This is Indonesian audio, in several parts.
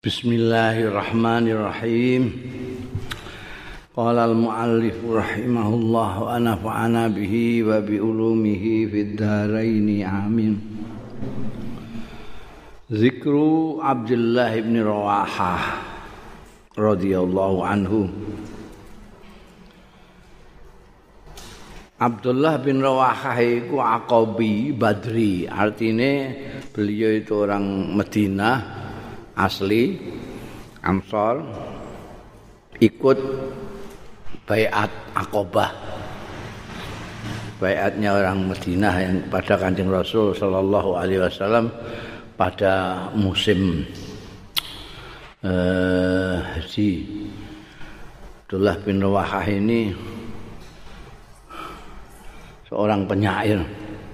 Bismillahirrahmanirrahim. Qala al-muallif rahimahullah wa nafa'ana bihi wa bi ulumihi fid dharain amin. Zikru Abdullah bin Rawahah radhiyallahu anhu. Abdullah bin Rawahah iku Aqabi Badri, artinya beliau itu orang Madinah asli Ansor, ikut baiat Aqabah, baiatnya orang Madinah yang pada Kanjeng Rasul sallallahu alaihi wasallam pada musim haji. Abdullah bin Rawahah ini seorang penyair.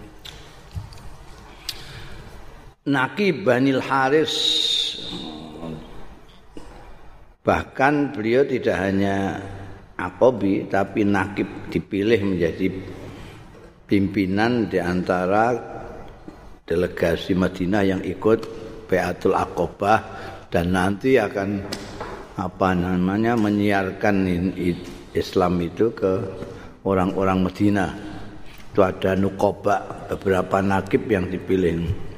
Naqib Banil Haris, bahkan beliau tidak hanya Aqabi tapi Naqib, dipilih menjadi pimpinan di antara delegasi Madinah yang ikut Baiatul Aqabah dan nanti akan menyiarkan Islam itu ke orang-orang Madinah. Itu ada nuqaba, beberapa Naqib yang dipilih.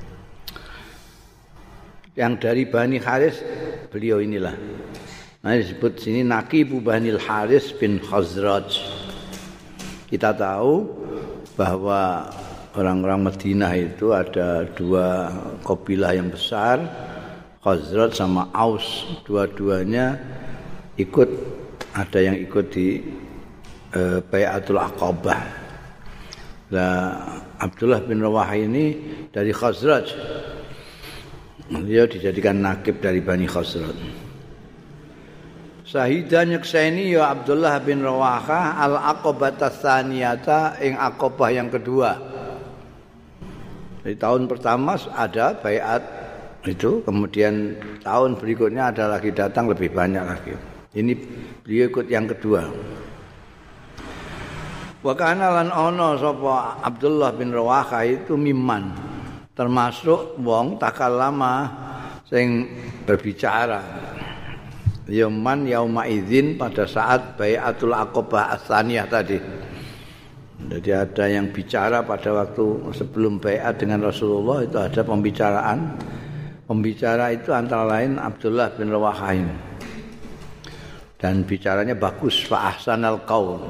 Yang dari Bani Haris beliau inilah. Nah, disebut sini Naqibu Banil Haris bin Khazraj. Kita tahu bahwa orang-orang Madinah itu ada dua kabilah yang besar, Khazraj sama Aus. Dua-duanya ikut, ada yang ikut di Baiatul Aqabah. Nah, Abdullah bin Rawahah ini dari Khazraj. Dia dijadikan Naqib dari Bani Khazraj. Sahidan nyekseni ya Abdullah bin Rawahah al-Aqabah tsaniyata ing Aqabah yang kedua. Di tahun pertama ada baiat itu, kemudian tahun berikutnya ada lagi datang lebih banyak lagi. Ini beliau ikut yang kedua. Wa kana lan ana sapa Abdullah bin Rawahah itu miman, termasuk wong takallama sing berbicara. Yaman yauma idzin, pada saat Baiatul Aqabah Ats-Tsaniyah tadi. Jadi ada yang bicara pada waktu sebelum baiat dengan Rasulullah, itu ada pembicaraan. Pembicara itu antara lain Abdullah bin Rawahah ini. Dan bicaranya bagus, fa ahsanal qaul.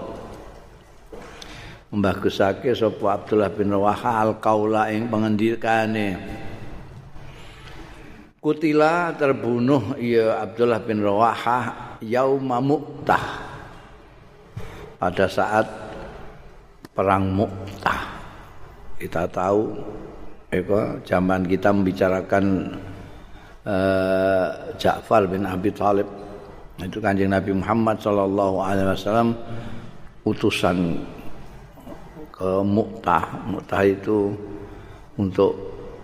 Membagusake sapa Abdullah bin Rawahah al-qaula ing pengendikane. Kutila, terbunuh ya Abdullah bin Rawahah yauma Mu'tah, pada saat perang Mu'tah. Kita tahu zaman kita membicarakan Ja'far bin Abi Thalib, itu Kanjeng Nabi Muhammad sallallahu alaihi wasallam utusan ke Mu'tah. Mu'tah itu untuk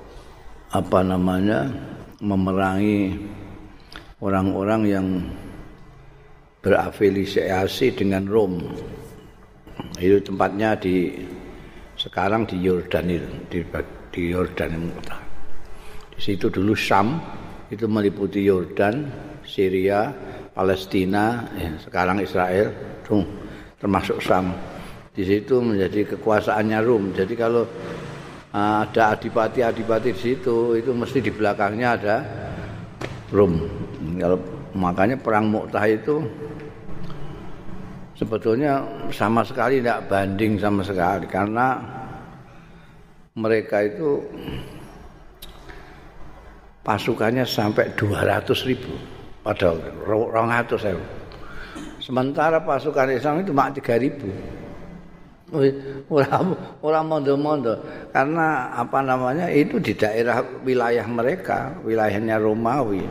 memerangi orang-orang yang berafiliasi dengan Rom. Itu tempatnya sekarang di Yordan itu, di Yordan. Di situ dulu Syam, itu meliputi Yordan, Syria, Palestina, sekarang Israel, termasuk Syam. Di situ menjadi kekuasaannya Rom. Jadi kalau ada adipati-adipati di situ, itu mesti di belakangnya ada Rom. Kalau makanya perang Mu'tah itu sebetulnya sama sekali tidak banding sama sekali, karena mereka itu pasukannya sampai 200.000 padahal 200.000. Sementara pasukan Islam itu cuma 3.000. Orang mondo-mondo, karena itu di daerah wilayah mereka, wilayahnya Romawi.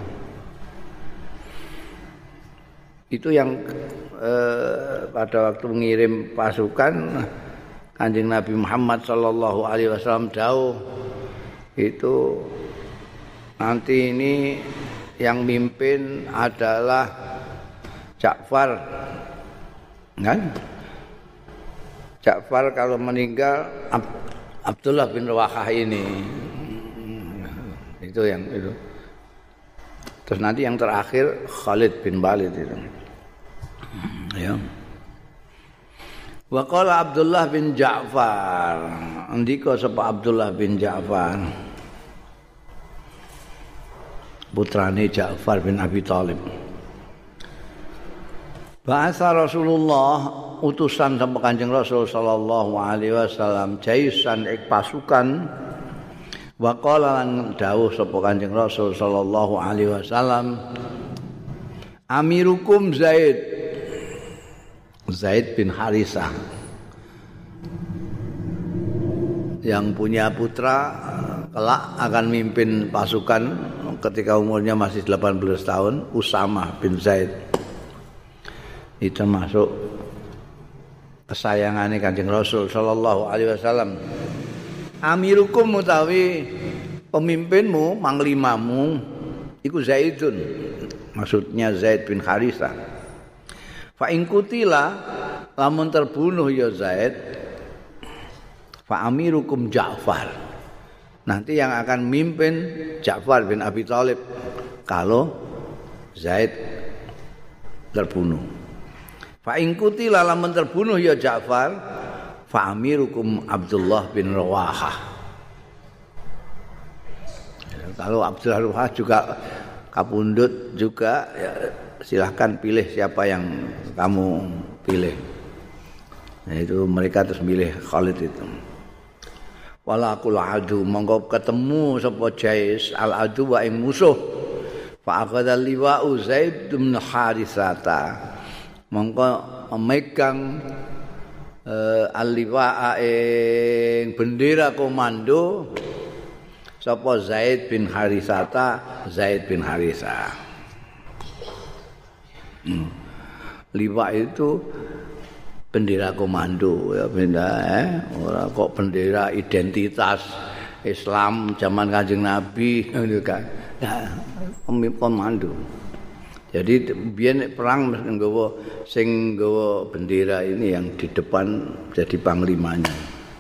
Itu yang pada waktu mengirim pasukan, Kanjeng Nabi Muhammad sallallahu alaihi wasallam dawuh itu nanti ini yang mimpin adalah Ja'far, kan? Ja'far kalau meninggal Abdullah bin Rawahah ini. Itu yang itu. Terus nanti yang terakhir Khalid bin Walid itu. Ya. Wa qala Abdullah bin Ja'far. Andika sapa Abdullah bin Ja'far. Putrane Ja'far bin Abi Thalib. Bahasa Rasulullah utusan sama Kanjeng Rasul sallallahu alaihi wasallam jaisan ik pasukan wa qala lan dawuh sapa Kanjeng Rasul sallallahu alaihi wasallam Amirukum Zaid bin Harisah yang punya putra kelak akan mimpin pasukan ketika umurnya masih 18 tahun Usamah bin Zaid. Itu masuk kesayangannya Kanjeng Rasul sallallahu alaihi wasallam. Amirukum utawi pemimpinmu, panglimamu iku Zaidun. Maksudnya Zaid bin Harisah. Fa in kutila lamun terbunuh ya Zaid fa amirukum Ja'far. Nanti yang akan mimpin Ja'far bin Abi Thalib kalau Zaid terbunuh. Fa in kutila lamun terbunuh ya Ja'far fa amirukum Abdullah bin Rawahah. Kalau Abdullah bin Rawahah juga kapundhut juga ya, silahkan pilih siapa yang kamu pilih. Nah, itu mereka terus milih Khalid itu. Walaqul adu monggo ketemu sapa Jais al adu wa ing musuh. Fa aqada liwa'u Zaid bin Harisata. Mongko memegang al-liwa'a ing bendera komando sapa Zaid bin Harisata, Zaid bin Harisah. Liwa itu bendera komando ya benda ora kok bendera identitas Islam zaman Kanjeng Nabi ngono kan. Ya, komando. Jadi biyen perang sing nggawa bendera ini yang di depan jadi panglimanya.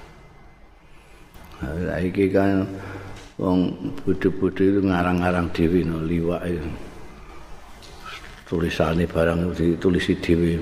Nah, iki kan wong bodho-bodho itu ngarang-ngarang dhewe no liwak itu. Tulisane barang ditulisi dhewe.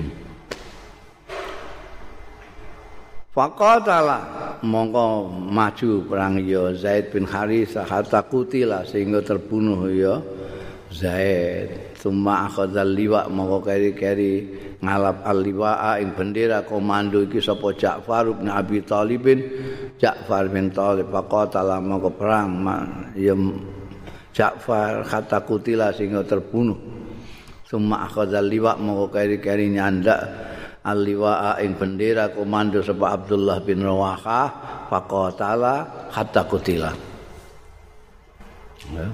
Faqatala mongko maju perang ya Zaid bin Harisah hatta kutila sehingga terbunuh ya Zaid. Summa akhadzal liwa mongko keri-keri ngalap al-liwa'a ing bendera komando iki sapa Ja'far bin Abi Thalib Ja'far bin Thalib faqatala mongko perang ya Ja'far hatta kutila sehingga terbunuh. Summa akhadzal liwa mongko keri-keri nyandak al-liwa'a ing bendera komando sapa Abdullah bin Rawahah faqatala hatta kutila. Ya.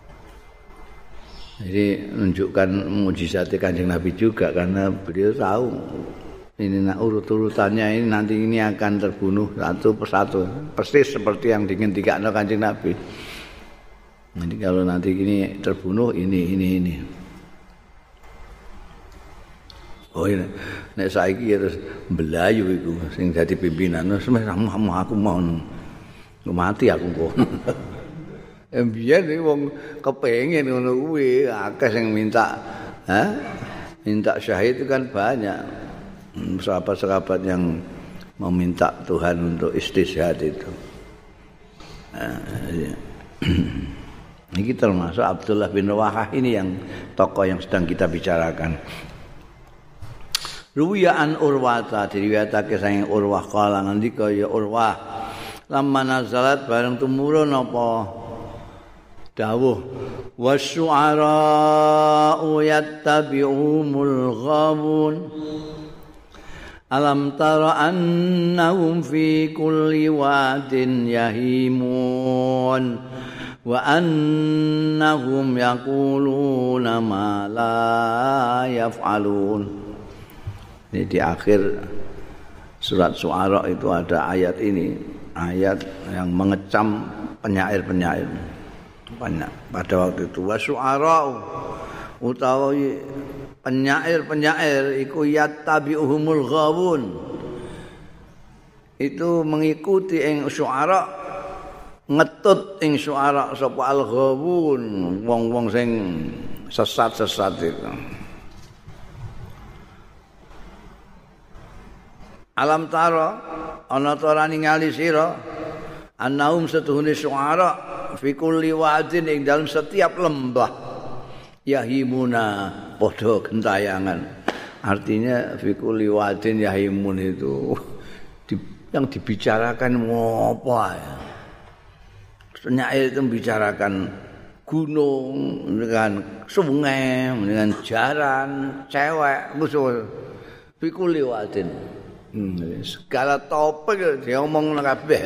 Jadi menunjukkan mukjizat Kanjeng Nabi juga karena beliau tahu ini urut-urutannya ini nanti ini akan terbunuh satu persatu persis seperti yang diinginkan Kanjeng Nabi. Jadi kalau nanti ini terbunuh ini. Oh ini nek saiki terus mbelayu iku sing dadi pimpinan wis aku mau mati aku kok. Biyen wong kepengin ngono kuwi akeh sing minta minta syahid itu kan banyak. Sahabat-sahabat yang meminta Tuhan untuk istishhad itu. Ini termasuk Abdullah bin Rawahah ini yang tokoh yang sedang kita bicarakan. Ruwiyaan Urwata diriwayatake saking Urwah kala ngendika ya Urwah lamma nazalat bareng tumurun apa dawuh wasyu'ara'u yattabi'umul ghawun alam tara annahum fi kulli wadin yahimun wa annahum yaquluna ma la yaf'alun. Ini di akhir surat Syu'ara itu ada ayat ini, ayat yang mengecam penyair-penyair. Pada waktu itu wasyu'ara'u utawi penyair-penyair iku yattabi'uhumul ghawun. Itu mengikuti ing syu'ara, ngetut ing syu'ara sapa al-ghawun, wong-wong sing sesat-sesat itu. Alam tara ana ta ora ningali sira annahum satuhune syuara fi kulli wadin ing dalam setiap lembah yahimuna padha gentayangan. Artinya fi kulli wadin yahimun itu yang dibicarakan apa ya? Penyair itu membicarakan gunung dengan sungai dengan jaran cewek musuh fi kulli wadin. Segala topik diomong kabeh.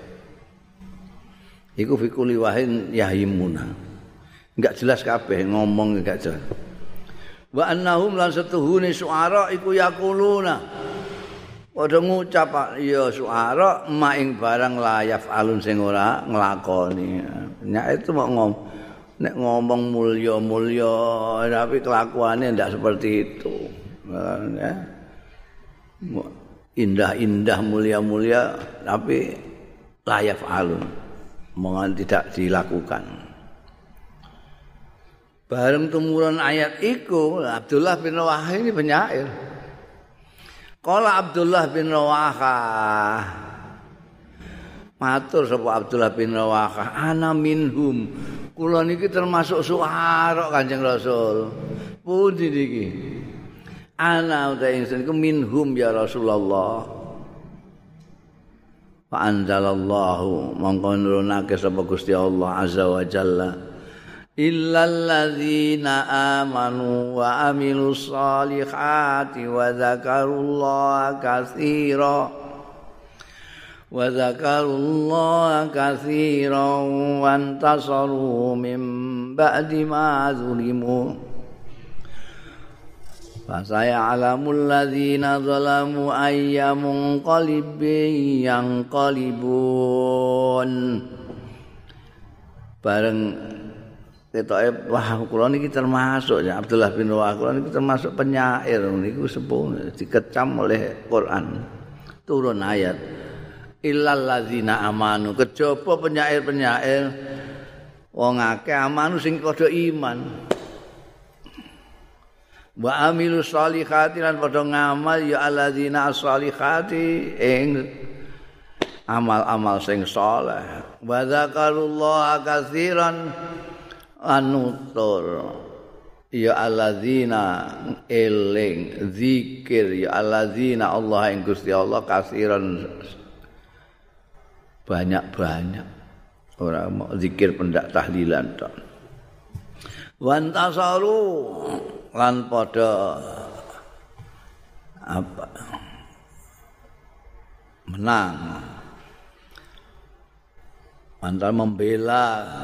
Iku fi kulli wahin yahimuna. Enggak jelas kabeh ngomong enggak jelas. Wa annahum lan satuhune suara iku yaquluna. Padha ngucap ya suara ma ing barang layaf alun sing ora nglakoni. Nek itu mau ngomong mulya-mulya tapi kelakuannya ndak seperti itu. Ya. Indah-indah mulia-mulia tapi layaf alun mohon tidak dilakukan. Bareng tumurun ayat iku Abdullah bin Rawahah ini penyair. Qala Abdullah bin Rawahah matur sapa Abdullah bin Rawahah ana minhum kula niki termasuk suara Kanjeng Rasul. Pundi niki? Ana uta ingsun iku minhum ya Rasulullah. Fa anzalallahu mongko nurunake sapa Gusti Allah azza wa jalla illal ladzina amanu wa amilus solihati wa dzakarullaha katsiran wa antasaru min ba'di ma zulimu. Fasaya'lamul ladzina zalamu ayyamun qalibin yanqalibun. Bareng ketoke wah kula niki termasuk ya Abdullah bin Rawahah kula niki termasuk penyair niku sepuh dikecam oleh Quran. Turun ayat illal ladzina amanu kejaba penyair-penyair wong akeh amanu sing padha iman. Wa amilus solihati lan padha ngamal ya alladzina as-solihati ing amal-amal sing saleh. Wa dzakarullaha katsiran anutur ya alladzina eling zikir ya alladzina Allah ing Gusti Allah katsiran banyak-banyak ora mau zikir pendak tahlilan tok. Wan tasaru lan padha apa menang antara membela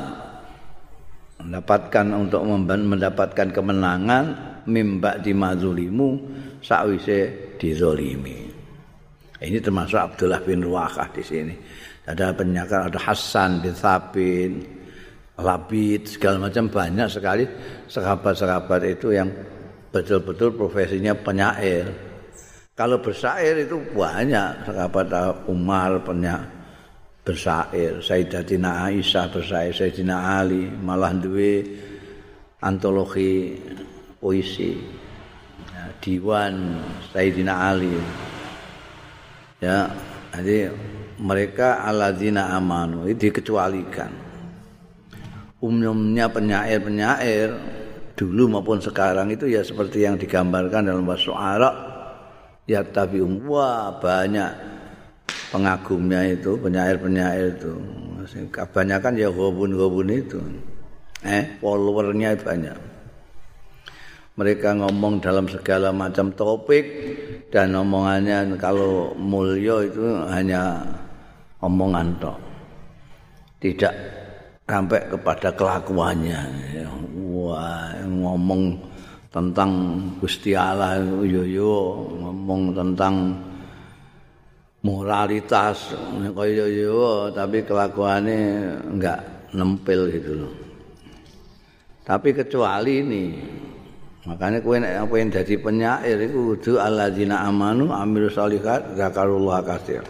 mendapatkan kemenangan mimba di mazulimu sakwise dizalimi. Ini termasuk Abdullah bin Rawahah di sini. Ada penyakar, ada Hasan bin Thabit, Labid, segala macam banyak sekali sahabat-sahabat itu yang betul-betul profesinya penyair. Kalau bersair itu banyak sahabat Umar bersair, Sayyidatina Aisyah bersair, Sayyidina Ali malah duwe antologi puisi, ya, diwan Sayyidina Ali. Ya, jadi mereka alladzina amanu itu dikecualikan. Umumnya penyair-penyair dulu maupun sekarang itu ya seperti yang digambarkan dalam Wasyu'ara ya tabi'um. Wah banyak pengagumnya itu penyair-penyair itu kebanyakan ya gobun-gobun itu followernya banyak. Mereka ngomong dalam segala macam topik dan omongannya kalau mulia itu hanya omongan tok, tidak sampai kepada kelakuannya. Wah, ngomong tentang Gusti Allah yo ngomong tentang moralitas kaya yo tapi kelakuannya enggak nempel gitu loh. Tapi kecuali ini makanya kowe nek pengen dadi penyair iku kudu alladzina amanu amilus sholihat zakarullah katsir.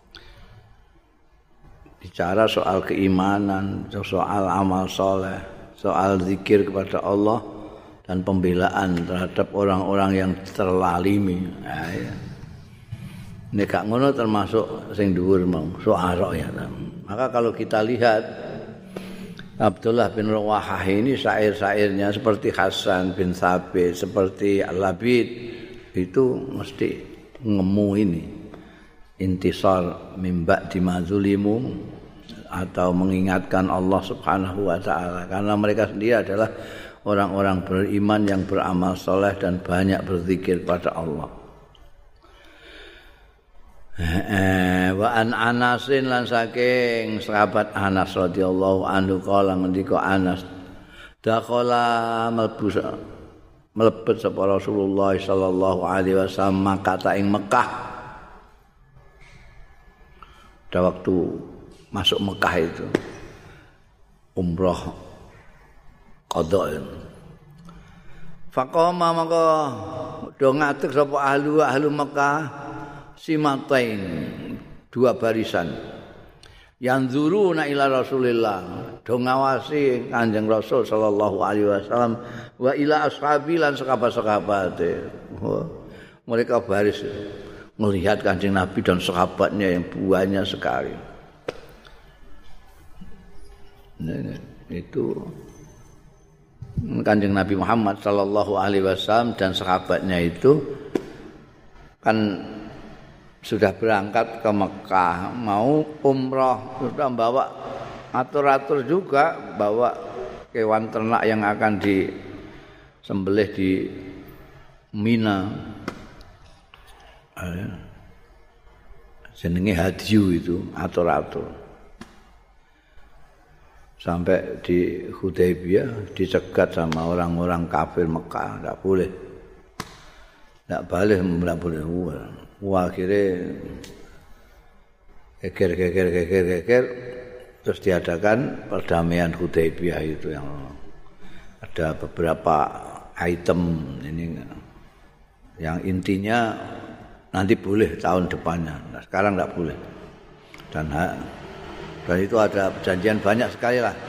Bicara soal keimanan, soal amal soleh, soal zikir kepada Allah dan pembelaan terhadap orang-orang yang terlalimi. Nah, ya. Nek gak ngono termasuk sing dhuwur mau syu'ara ya. Maka kalau kita lihat Abdullah bin Rawahah ini syair-syairnya seperti Hasan bin Thabit, seperti Al-Labid itu mesti ngemu ini. Intisar min ba'di ma zulimu atau mengingatkan Allah Subhanahu wa taala karena mereka sendiri adalah orang-orang beriman yang beramal soleh dan banyak berzikir pada Allah. Wa an Anasin lan saking sahabat Anas radhiyallahu anhu kala ngendika Anas dakhala mlebet sapa Rasulullah sallallahu alaihi wasallam Makkah ing Mekah. Pada waktu masuk Mekah itu umrah qada. Faqama maka do ngadeg sapa ahlu Mekah simatain dua barisan yang zuruna ila Rasulillah do ngawasi Kanjeng Rasul sallallahu alaihi wasallam wa ila ashabi lan sahabat-sahabate. Mereka baris melihat Kanjeng Nabi dan sahabatnya yang banyak sekali. Nah, itu Kanjeng Nabi Muhammad sallallahu alaihi wasallam dan sahabatnya itu kan sudah berangkat ke Mekah mau umrah, sudah bawa atur-atur juga, bawa hewan ternak yang akan disembelih di Mina. Jenenge hadyu itu atur-atur. Sampai di Hudaybiyah dicegat sama orang-orang kafir Mekah, enggak boleh. Enggak boleh. Wah, akhirnya geger terus diadakan perdamaian Hudaybiyah itu yang ada beberapa item ini yang intinya nanti boleh tahun depannya. Nah, sekarang enggak boleh. Dan itu ada perjanjian banyak sekali lah.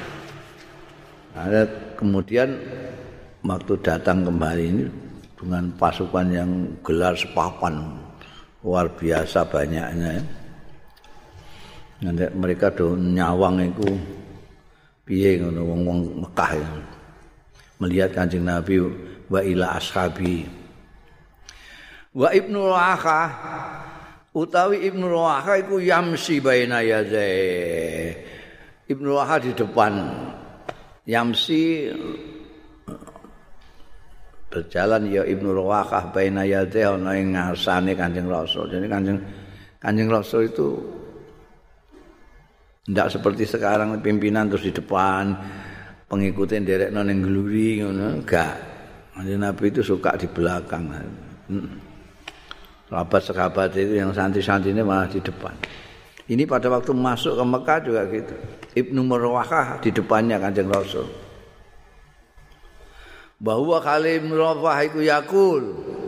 Ada kemudian waktu datang kembali ini dengan pasukan yang gelar sepapan luar biasa banyaknya. Nanti mereka do nyawang itu piye ngono wong-wong Mekah ya. Melihat Kanjeng Nabi wa ila ashabi. Wa Ibnu Rawahah utawi Ibnu Rawahah iku yamsi baina yadai. Ibnu Rawahah di depan. Yamsi berjalan ya Ibnu Rawahah baina yadai ana ing ngarsane Kanjeng Rasul. Jadi Kanjeng Rasul itu tidak seperti sekarang pimpinan terus di depan, pengikutnya nderekno ning gluri ngono, enggak. Kanjeng Nabi itu suka di belakang. Sahabat-sahabat itu yang santri-santrinya malah di depan. Ini pada waktu masuk ke Mekah juga gitu. Ibnu Rawahah di depannya Kanjeng Rasul. Bahwa Khalid bin Rawahah iku yakul.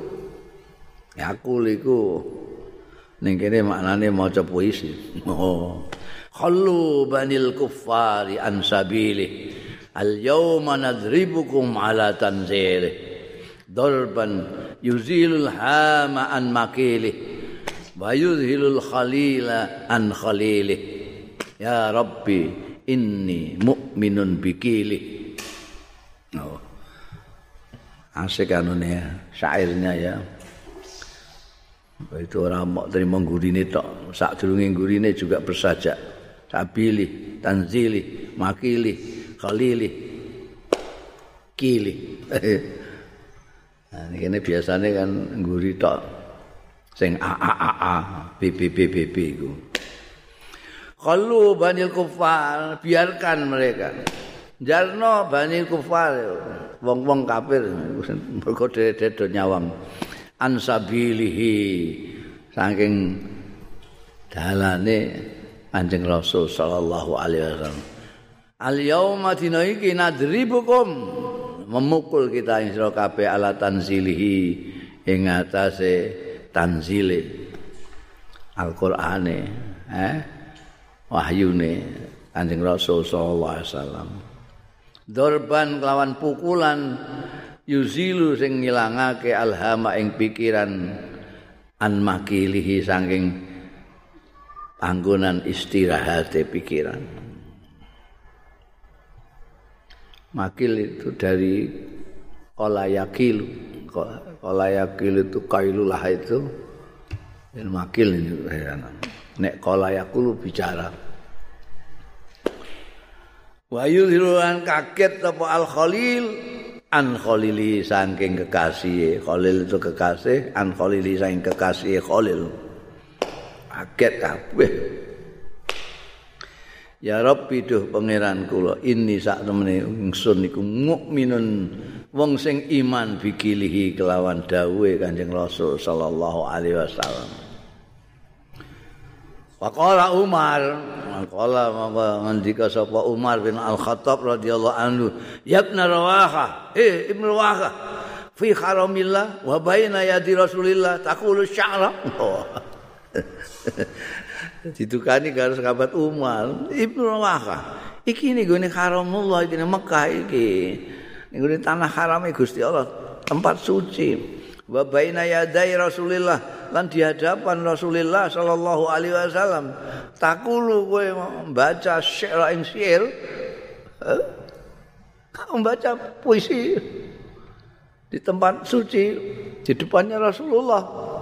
Yakul iku ning kene maknane maca puisi. Oh. Khallu banil kuffari an sabili. Al yauma nadribukum ala tanzili. Darban yuzilul hama an makili wa yuzhilul khalila an khalili. Ya Rabbi inni mu'minun bikili. Oh. Asik anune syairnya ya. Itu orang mau terima gurine tok, sadurunge gurine juga bersajak. Sabili, tanzili, makili, khalili, kili. Nah, ini biasanya kan guri tok sing a bb iku. Khallu banil kufar, biarkan mereka. Jarno banil kufar, wong-wong kafir mergo dedo nyawang. Ansabilihi saking dalane Kanjeng Rasul sallallahu alaihi wasallam. Al yauma dina iki nadribukum memukul kita ing sira kabeh ala tanzilihi ing atase tanzile Al-Qur'ane wahyune Kanjeng Rasul sallallahu alaihi wasallam. Dorban kelawan pukulan yuzilu sing ngilangake alhama ing pikiran an makilihi saking panggonan istirahate pikiran. Makil itu dari qalayakil. Qalayakil itu kailulah itu. Dan makil ini nek qalayakul bicara. Wa yuzhiruan kaget apa al khalil an khalili saking kekasih. Khalil itu kekasih, an khalili saking kekasih Khalil. Kaget kabeh. Ya Rabbi duh pangeran kula, inni sak temene ingsun niku mukminun wong sing iman bikilihi kelawan dawuhe Kanjeng Rasul sallallahu alaihi wasallam. Faqala Umar, mangkala ngendika sapa Umar bin Al-Khattab radhiyallahu anhu, "Ya Ibn Rawaha, Ibn Rawaha, fi haramillah wa baina yadi Rasulillah taqulu sya'ra." Ditukani karo sahabat Umar, Ibn Rawaha, iki nggone haramullah iki Mekah iki. Nggone tanah harame Gusti Allah, tempat suci. Wa baina yadai Rasulillah lan di hadapan Rasulullah sallallahu alaihi wasallam takulu kowe membaca syair ing syair membaca puisi di tempat suci di depannya Rasulullah.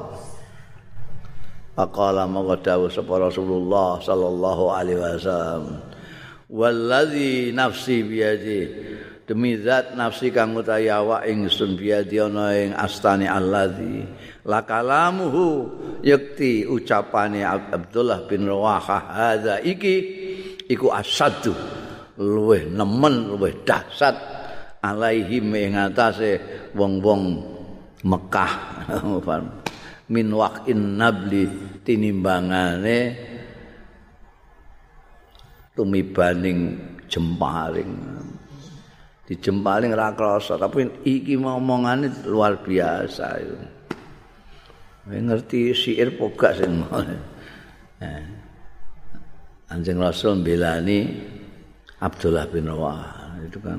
Faqala maka dawuh sapa Rasulullah sallallahu alaihi wasallam wallazi nafsi biyadi demi zat nafsi kang utawi awak ingsun biadi ana ing astane allazi la kalamuhu yakti ucapane Abdullah bin Rawaha hadza iki iku asaddu luweh nemen luweh dahsyat alaihim ing atase wong-wong Mekah min waqin nabli tinimbangane tumibaning jemparing di jemparing ra krasa tapi iki omongane luar biasa itu. Ngerti syair pogak sing ngono. Kanjeng Rasul mbelani Abdullah bin Rawaha itu kan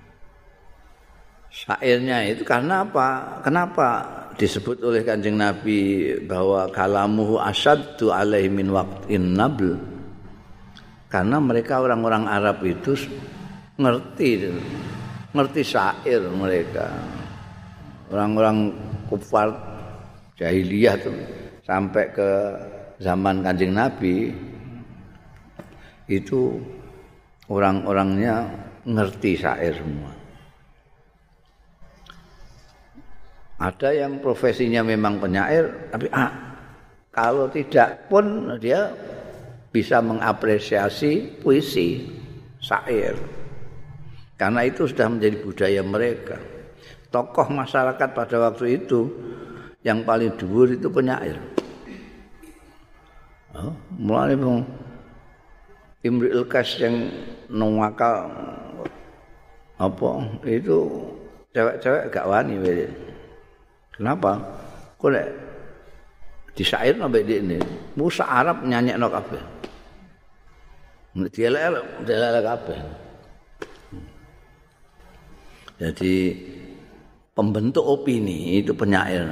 syairnya itu karena apa? Kenapa disebut oleh Kanjeng Nabi bahwa kalamuhu asyaddu alaihi min waqtin nabl? Karena mereka orang-orang Arab itu ngerti syair mereka. Orang-orang kufar jahiliyah tuh sampai ke zaman Kanjeng Nabi itu orang-orangnya ngerti syair semua. Ada yang profesinya memang penyair tapi kalau tidak pun dia bisa mengapresiasi puisi, syair. Karena itu sudah menjadi budaya mereka. Tokoh masyarakat pada waktu itu yang paling dhuwur itu penyair. Mulane Imrul Qais yang nongakal apa itu cewek-cewek gak wani weh. Kenapa? Kok nek disyair sampai ini musa Arab nyanyekno kabeh. Nek dielek kabeh. Jadi pembentuk opini itu penyair.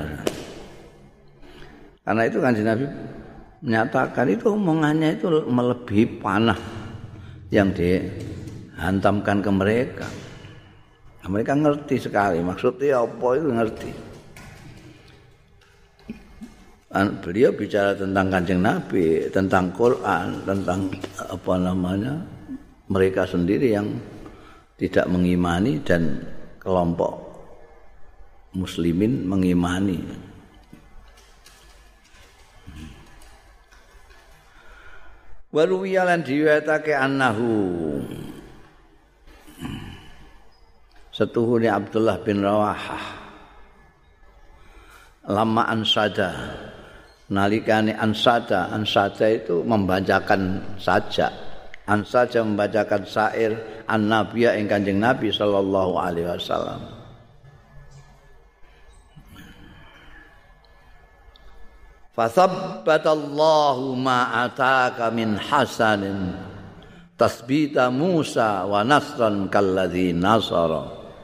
Karena itu Kanjeng Nabi menyatakan itu omongannya itu melebihi panah yang dihantamkan ke mereka. Mereka ngerti sekali maksudnya apa itu ngerti. Beliau bicara tentang Kanjeng Nabi, tentang Quran, tentang apa namanya mereka sendiri yang tidak mengimani dan kelompok muslimin mengimani. Waruwiya lan diwetake annahu setuhune Abdullah bin Rawaha lama ansada nalikane ansada itu membacakan sajak ansada membacakan syair an-nabiyya ing Kanjeng Nabi sallallahu alaihi wasallam. Fasabbatallahu ma ataka min hasanin tasbita Musa wa nasran kalladzi nasara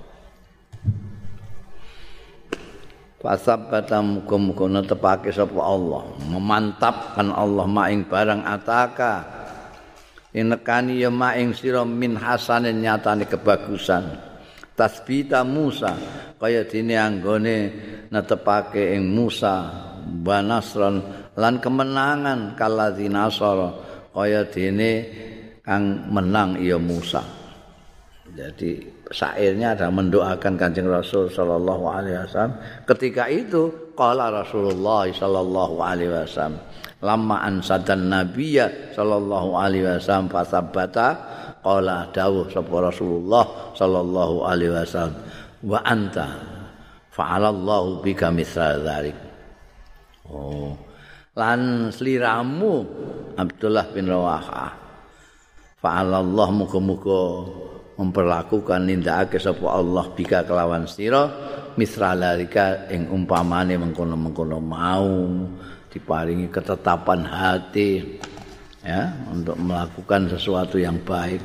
fasabbata muga-muga netepake sapa Allah memantapkan Allah maing barang ataka inekani ya maing sira min hasanin nyatane kebagusan tasbita Musa kaya dene anggone netepake ing Musa wa nasran lan kemenangan kalladzi nasara kaya dene kang menang ya Musa. Jadi syairnya ada mendoakan Kanjeng Rasul sallallahu alaihi wasallam. Ketika itu qala Rasulullah sallallahu alaihi wasallam lamma ansadan nabiyya sallallahu alaihi wasallam fasabbata qala dawuh sapa Rasulullah sallallahu alaihi wasallam wa anta fa'alallahu bika mithla dzalik. Oh, lan sliramu Abdullah bin Rawahah fa'alallah muga-muga memperlakukan nindakake sapa Allah bika kelawan sira misralarika ing umpamane mengkono-mengkono mau diparingi ketetapan hati ya untuk melakukan sesuatu yang baik.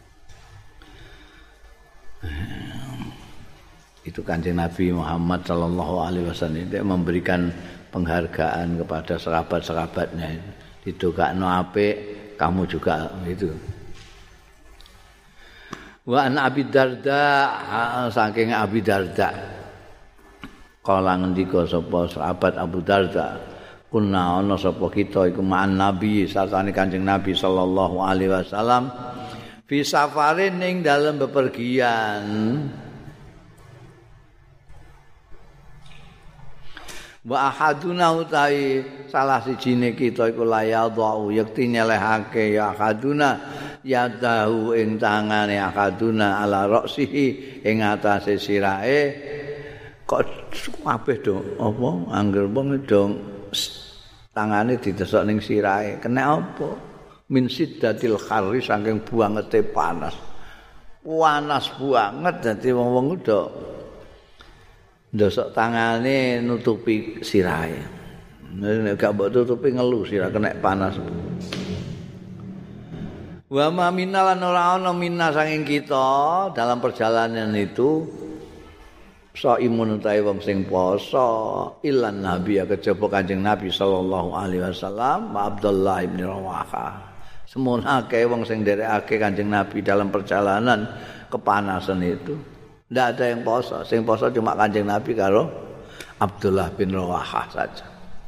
Itu Kanjeng Nabi Muhammad sallallahu alaihi wasallam itu memberikan penghargaan kepada sahabat-sahabatnya. Didongakno apik, kamu juga itu. Wa an Abi Darda saking Abi Darda kala ngendika sapa sahabat Abu Darda kunna ana sapa kita iku ma'an Nabi sartane Kanjeng Nabi sallallahu alaihi wasallam fi safarin ning dalem bepergian wa ahaduna utawi salah sijine kita iku layadhu yakti nyelehake ya ahaduna ya tahu ing tangane akaduna ala roksihi ing atase sirahe kok kabeh do apa angger wong dong tangane didesok ning sirahe kena apa min siddatil kharri saking buangete panas banget dadi wong-wong do ndosok tangane nutupi sirahe nek gak mbok tutupi ngelu sirah kena panas. Wa ma minna lan ora ana minna saking kita dalam perjalanan itu saimun utahe wong sing poso ilan nabi kejaba Kanjeng Nabi sallallahu alaihi wasallam wa Abdullah bin Rawahah. Semono akeh wong sing nderekake Kanjeng Nabi dalam perjalanan kepanasan itu. Ndak ada yang poso, sing poso cuma Kanjeng Nabi karo Abdullah bin Rawahah saja.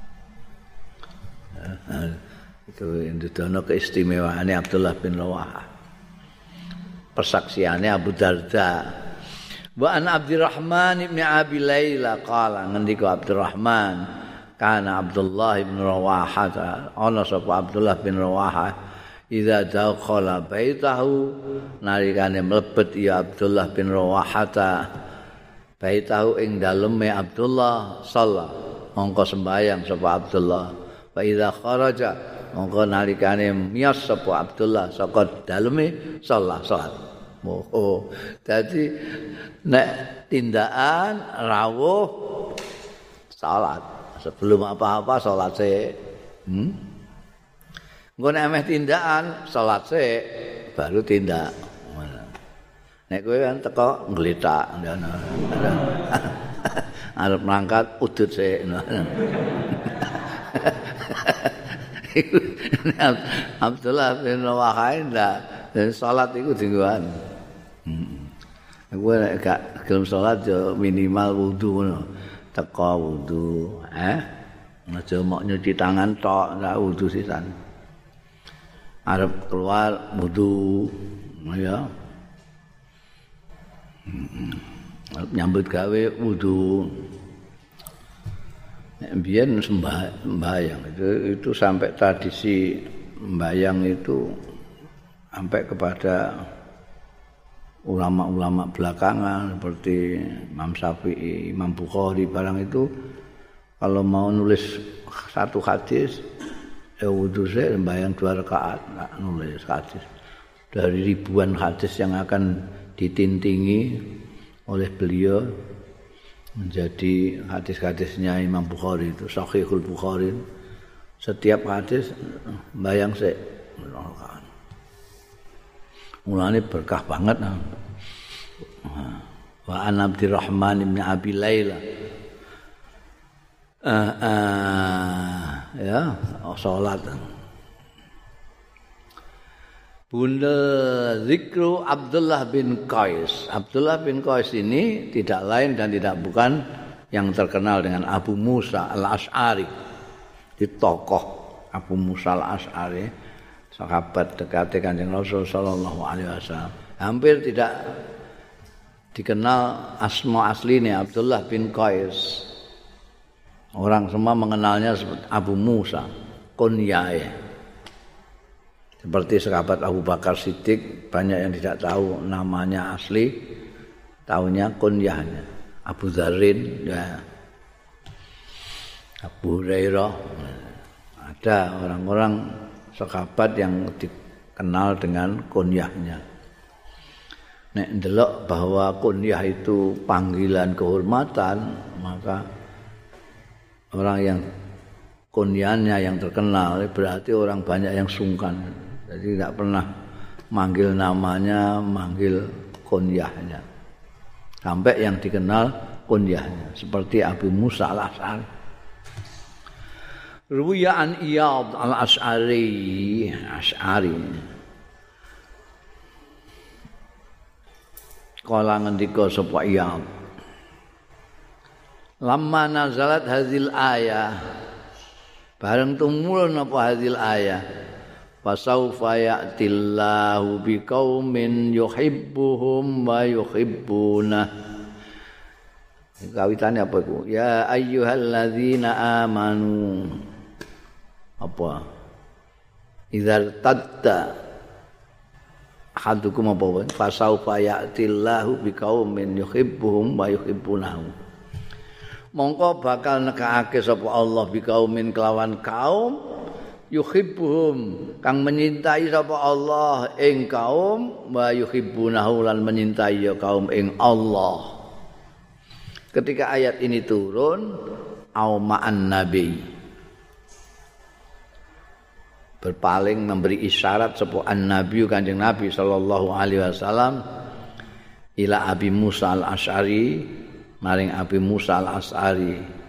Itu ndudono keistimewaane Abdullah bin Rawahah. Persaksiane Abu Darda. Wa an Abdurrahman bin Abi Laila qala ngendika Abdurrahman kana Abdullah bin Rawahah ana sapa Abdullah bin Rawahah idza dakhala baitahu nalikane mlebet ya Abdullah bin Rawahah baitahu ing daleme Abdullah sallallahu mongko sembayang sapa Abdullah wa idza kharaja mongko nalikane miyas sapa Abdullah saka daleme salat. Oh, dadi nek tindakan rawuh salat sebelum apa-apa salat sik. Engko nek meh tindakan salat sik baru tindak. Nek kowe kan teko ngletak arep mangkat udut sik. Abdullah bin Rawahah ndak salat iku dinggoan. Kowe nek gak gelem salat yo minimal wudu ngono. Teko wudu, aja mok nyuci tangan tok, ora wudu sisan. Arep keluar wudu ya. Nyambut gawe wudu. Biyen sembahyang itu sampai tradisi sembahyang itu sampai kepada ulama-ulama belakangan seperti Imam Syafi'i, Imam Bukhari barang itu kalau mau nulis satu hadis ya wudu saya sembahyang 2 rakaat enggak nulis hadis dari ribuan hadis yang akan ditintingi oleh beliau menjadi hadis-hadisnya Imam Bukhari itu Sahihul Bukhari. Setiap hadis bayang sik. Mulane berkah banget. Wa an Abdurrahman bin Abi Laila. Ya, salat. Bunda zikru Abdullah bin Qais. Abdullah bin Qais ini tidak lain dan tidak bukan yang terkenal dengan Abu Musa al-Asy'ari. Di tokoh Abu Musa al-Asy'ari, sahabat dekat Kanjeng Rasul sallallahu alaihi wasallam. Hampir tidak dikenal asma aslinya Abdullah bin Qais. Orang semua mengenalnya seperti Abu Musa, kunyae. Seperti sahabat Abu Bakar Siddiq, banyak yang tidak tahu namanya asli, tahunya kunyahnya. Abu Dzarrin, ya. Abu Hurairah. Ada orang-orang sahabat yang dikenal dengan kunyahnya. Nek ndelok bahwa kunyah itu panggilan kehormatan, maka orang yang kunyahnya yang terkenal berarti orang banyak yang sungkan. Jadi tidak pernah manggil namanya, manggil kunyahnya. Sampai yang dikenal kunyahnya seperti Abu Musa al-Asy'ari. Ruwiya an Iyad al-Asy'ari, Asy'ari. Kala ngendika sapa Iyad. Lamma nazalat hadzal ayah. Bareng tumurun apa hadzal ayah. Fasaufa ya'tillahu biqaumin yuhibbuhum wa yuhibbuna. Kawitane apa iku? Ya ayyuhalladzina amanu. Apa? Idzal tadda hadukum apa? Fasaufa ya'tillahu biqaumin yuhibbuhum wa yuhibbunahu. Mongko bakal nekake sapa Allah biqaumin kelawan kaum yuhibbuhum kang menyintai sapa Allah ing kaum wa yuhibbunahu lan menyintai ya kaum ing Allah. Ketika ayat ini turun au ma'an nabi berpaling memberi isyarat sapa an-nabi Kanjeng Nabi sallallahu alaihi wasallam ila Abi Musa al-Asy'ari maring Abi Musa al-Asy'ari.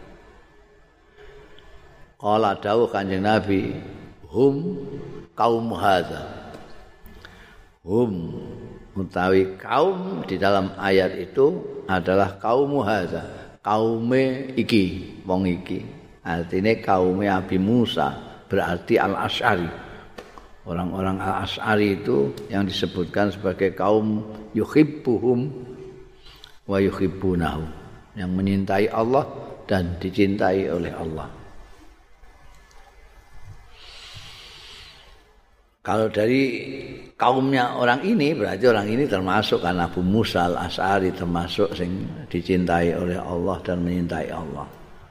Qala dawuh Kanjeng Nabi, hum kaum hadza. Hum utawi kaum di dalam ayat itu adalah kaum hadza, kaume iki, wong iki. Artinya kaume Abi Musa berarti al-Asy'ari. Orang-orang al-Asy'ari itu yang disebutkan sebagai kaum yuhibbuhum wa yuhibbunahu, yang menyintai Allah dan dicintai oleh Allah. Kalau dari kaumnya orang ini berarti orang ini termasuk kan Abu Musa al-Asy'ari termasuk sing dicintai oleh Allah dan menyintai Allah.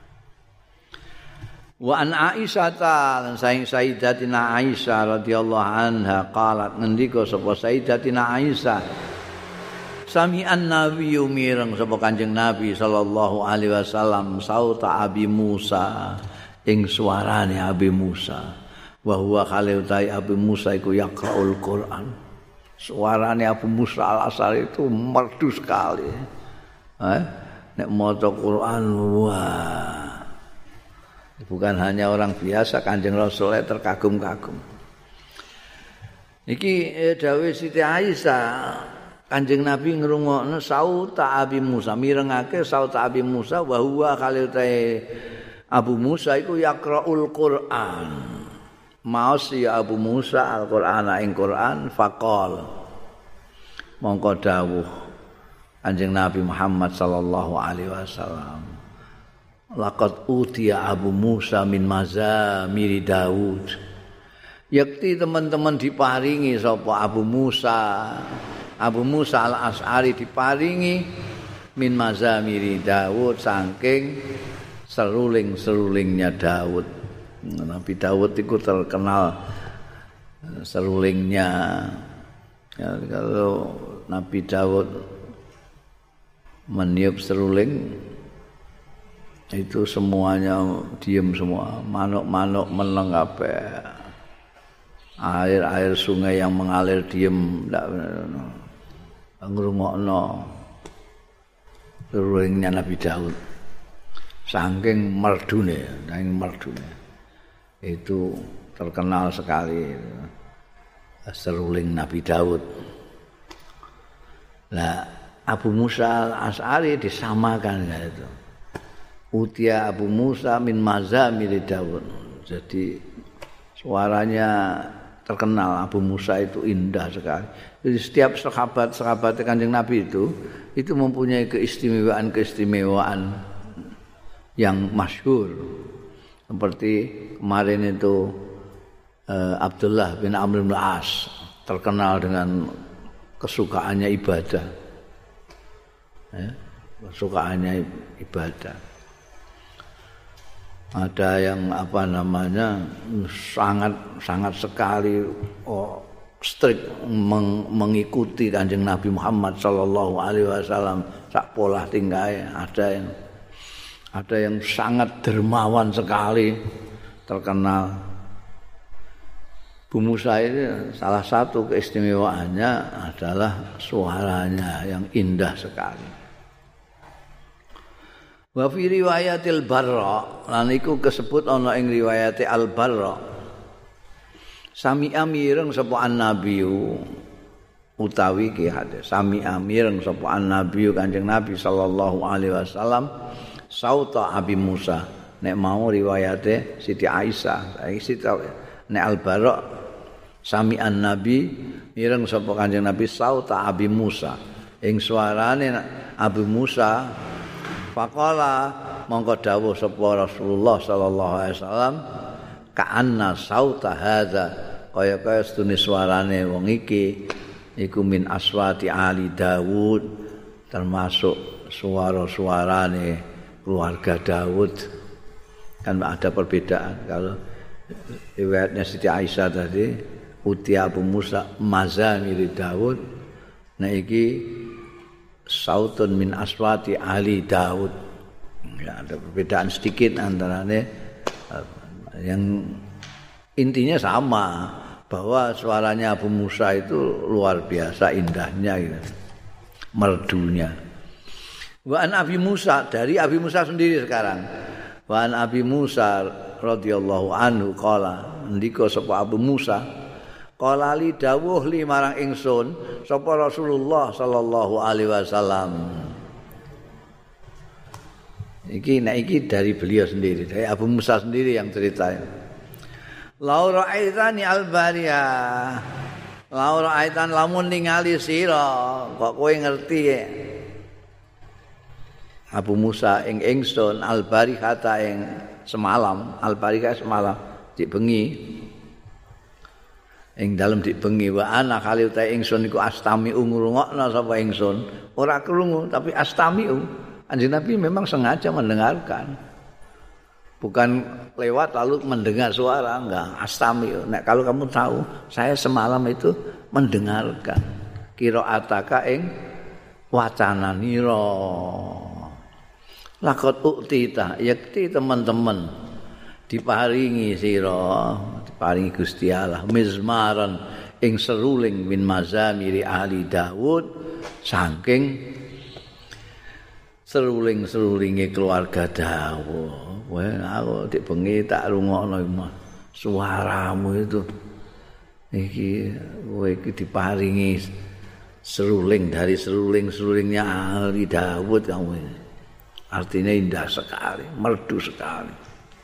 Wa an Aisyah lan Sayyidatina Aisyah radhiyallahu anha qalat ngendika sapa Sayyidatina Aisyah sami'an nabiyyu mireng sapa Kanjeng Nabi sallallahu alaihi wasallam sauta Abi Musa ing suarane Abi Musa. Wa huwa khaliutai Abu Musa iku yaqra'ul Quran. Suarane Abu Musa al-Asy'ari itu merdu sekali. Nek maca Quran wah. Bukan hanya orang biasa, Kanjeng Rasul terkagum-kagum. Iki dawuh Siti Aisyah, Kanjeng Nabi ngrungokno sauta Abi Musa, mirengake sauta Abi Musa wa huwa khaliutai Abu Musa iku yaqra'ul Quran. Maos ya Abu Musa Al-Qur'an ing Qur'an faqal mongko dawuh Kanjeng Nabi Muhammad sallallahu alaihi wasallam laqad utiya Abu Musa min mazamiri Daud. Yakti teman-teman diparingi sapa Abu Musa al-Asy'ari diparingi min mazamiri Daud saking seruling-serulingnya Daud. Nabi Daud itu terkenal serulingnya. Ya, kalau Nabi Daud meniup seruling itu semuanya diam semua, manuk-manuk meneng kabeh. air sungai yang mengalir diam ndak ngrungokno seruling Nabi Daud saking merdune itu terkenal sekali seruling Nabi Daud. Nah, Abu Musa al-Asy'ari disamakan itu. Utia Abu Musa min mazamir Daud. Jadi suaranya terkenal Abu Musa itu indah sekali. Jadi setiap sahabat Kanjeng Nabi itu mempunyai keistimewaan yang masyhur. Seperti kemarin itu Abdullah bin Amr bin As terkenal dengan kesukaannya ibadah. Ya, kesukaannya ibadah. Ada yang sangat sekali strict mengikuti Kanjeng Nabi Muhammad sallallahu alaihi wasallam sak pola tingkahe. Ada yang sangat dermawan sekali terkenal. Bu Musa ini salah satu keistimewaannya adalah suaranya yang indah sekali. Wa fi riwayatil Barra lan iku kesebut ana ing riwayate Al Barra. Sami amireng sapa an-nabiyu utawi ki hadis. Sami amireng sapa an-nabiyu Kanjeng Nabi sallallahu alaihi wasallam sauta Abi Musa. Nek mau riwayate Siti Aisyah, Siti nek Al Barra sami an-nabi mireng sapa Kanjeng Nabi sauta Abi Musa. Ing suarane Abu Musa faqala mongko dawuh sapa Rasulullah sallallahu alaihi wasallam ka'anna sauta hadza kaya sedune suarane wong iki iku min aswati ali Daud termasuk suara-suarane keluarga Daud. Kan ada perbedaan kalau riwayatnya Siti Aisyah tadi utia Abu Musa mazamir Daud nah iki sautun min aswati ali Daud. Ya, ada perbedaan sedikit antaranya yang intinya sama bahwa suaranya Abu Musa itu luar biasa indahnya gitu. Merdunya. Wa an Abi Musa dari Abi Musa sendiri sekarang. Wa an Abi Musa radhiyallahu anhu qala ndika sapa Abu Musa qala li dawuh li marang ingsun sapa Rasulullah sallallahu alaihi wasallam. Iki dari beliau sendiri, dari Abu Musa sendiri yang ceritain. Laura aitani al-bariya. Laura aitan lamun ningali sira, kok kowe ngerti ya. Abu Musa ing ingsun al-barihata ing semalam, al-barika semalam dik bengi. Ing dalem dik bengi wa ana kali utahe ingsun iku astami ngrungokno sapa ingsun. Ora krungu tapi astami. Kanjeng Nabi memang sengaja mendengarkan. Bukan lewat lalu mendengar suara, enggak. Astami. Nek kalau kamu tahu, saya semalam itu mendengarkan qiraataka ing wacananira. Lakot uktita, yakti teman-teman diparingi sira, diparingi Gusti Allah mizmaran ing seruling min mazamiri ahli Daud saking seruling-serulinge keluarga Daud. Wah, aku dik bengi tak rungokno suaramu itu. Iki kowe iki diparingi seruling dari seruling-serulingnya ahli Daud kamu ini. Artinya indah sekali, merdu sekali.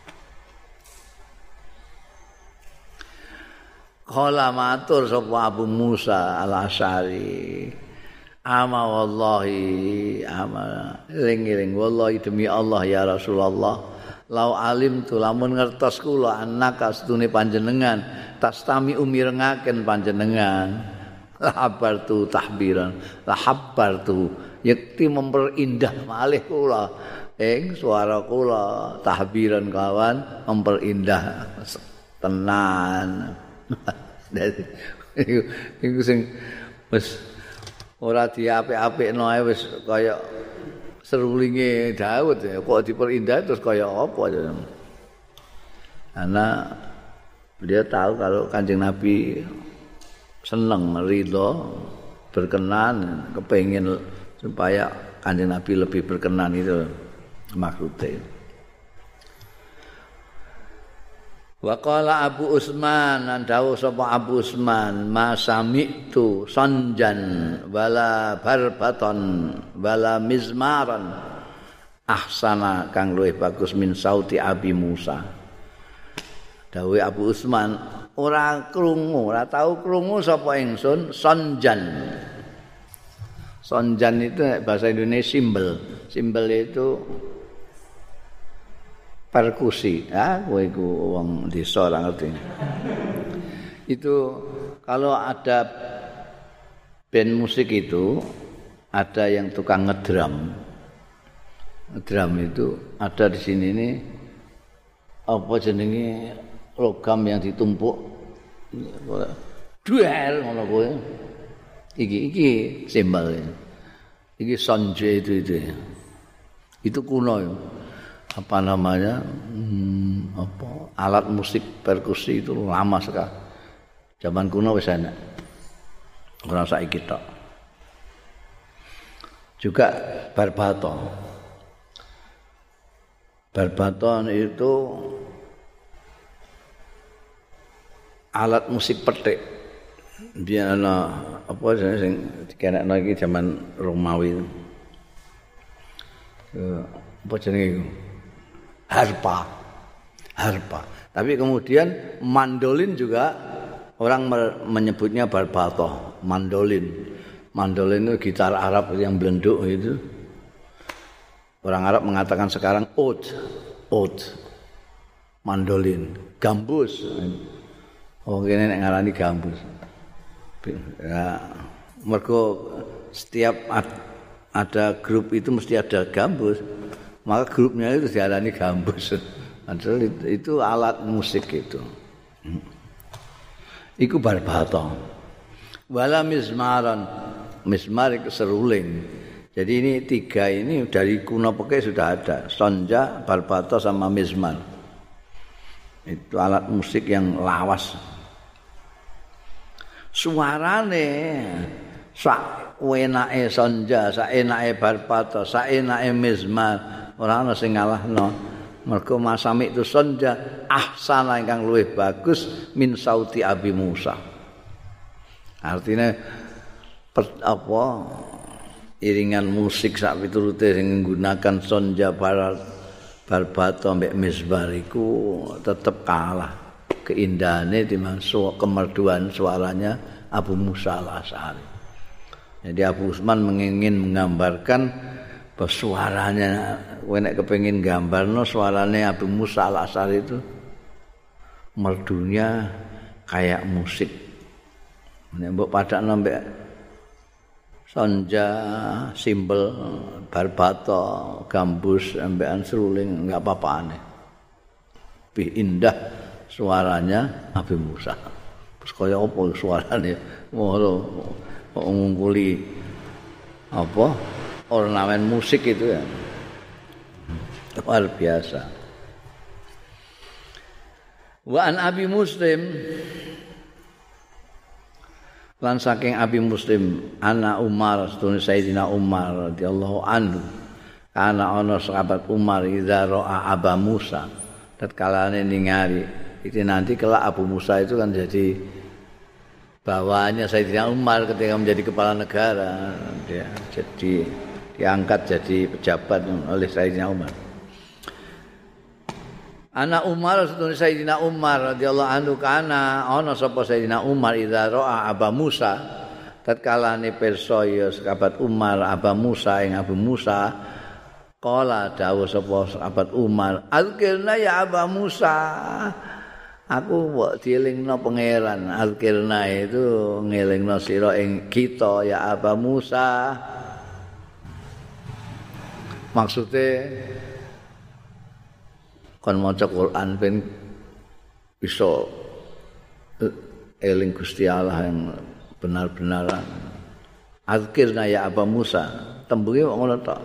Qala matur sapa Abu Musa al-Asy'ari. Ama wallahi ama eling-eling wallahi demi Allah ya Rasulullah lau alim tu lamun ngertos kula annaka sedune panjenengan tastami umirengaken panjenengan lahabartu tahbiran lahabbartu yakti memperindah malih kula ing swara kula tahbiran kawan memperindah tenan. Iku sing wis ora diapik-apikno ae wis kaya serulinge Daud ya. Kok diperindah terus kaya apa ya. Ana Beliau tahu kalau Kanjeng Nabi seneng, ridho, berkenan, kepengin supaya Kanjeng Nabi lebih berkenan itu maksudnya. Wa qala Abu Utsman, dawuh sapa Abu Utsman, ma sami'tu sanjan wala barbaton wala mizmaran ahsana kang luwih bagus min sauti Abi Musa. Dawuh Abu Utsman, ora tau krungu sapa ingsun sanjan. Sanjan itu bahasa Indonesia simbel. Simbel itu perkusi, kowe iku wong desa ora ngerti. Itu kalau ada band musik itu ada yang tukang ngedrum. Ngedrum itu ada di sini nih apa jenenge logam yang ditumpuk. Duel ngono kowe. Iki simbol. Iki sonje itu. Itu kuno ya. Apa namanya alat musik perkusi itu lama sekali. Zaman kuno wis enak. Ora saiki tok. Juga barbaton. Barbaton itu alat musik petik. Biar apa sing dikenekno iki zaman Romawi. Apa jenenge iku? Harpa. Tapi kemudian mandolin juga orang menyebutnya barbato, mandolin. Mandolin itu gitar Arab yang belenduk itu. Orang Arab mengatakan sekarang oud. Mandolin, gambus. Oh kene nek ngarani gambus. Ya, mergo setiap ada grup itu mesti ada gambus. Maka grupnya itu diarani gambus. Padahal itu alat musik itu. Iku barbato. Wala mizmaran. Mizmar itu seruling. Jadi ini tiga ini dari kuno peke sudah ada. Sonja, barbato sama mizmar. Itu alat musik yang lawas. Suarane sak enake sonja, sak enake barbato, sak enake mizmar. Ora ana sing ngalahno. Mergo masami itu sonja ahsana ingkang luwih bagus min sauti Abi Musa. Artinya iringan musik sak piturute sing nggunakan sonja barbato mbek mizbar iku tetep kalah keindahane timbang kemerduan suaranya Abu Musa Al-Asy'ari. Jadi Abu Utsman ingin menggambarkan bahwa suaranya, nek kepengin gambarno suaranya Abu Musa Al-Asy'ari itu merdunya kayak musik. Nek mbok padakno mbek sonja, simbol, barbato, gambus, ambekan seruling enggak apa-apane. Lebih indah suaranya Abu Musa. Terus kaya apa suaranya? Ngono ngungkuli apa? Ornamen musik itu ya luar biasa. Wa an Abi Muslim lan saking Abi Muslim ana Umar sedune Sayyidina Umar radhiyallahu anhu ana ana sahabat Umar idza ra'a Aba Musa tatkalane ningali itu nanti kelak Abu Musa itu kan jadi bawaannya Sayyidina Umar ketika menjadi kepala negara dia jadi diangkat jadi pejabat oleh Sayyidina Umar. Anak Umar sedune Sayyidina Umar radhiyallahu anhu kana ana sapa Sayyidina Umar idza ra'a Aba Musa tatkalane pirsa ya sahabat Umar Aba Musa ing Abu Musa qala dawuh sapa sahabat Umar azkirna ya Aba Musa aku mbok dielingno pangeran azkirna itu ngelingno sira ing kita ya Aba Musa. Maksudnya kon maca Quran ben bisa eling Gusti Allah yang benar-benar. Azkirna ya Aba Musa, tembunge ngono tok.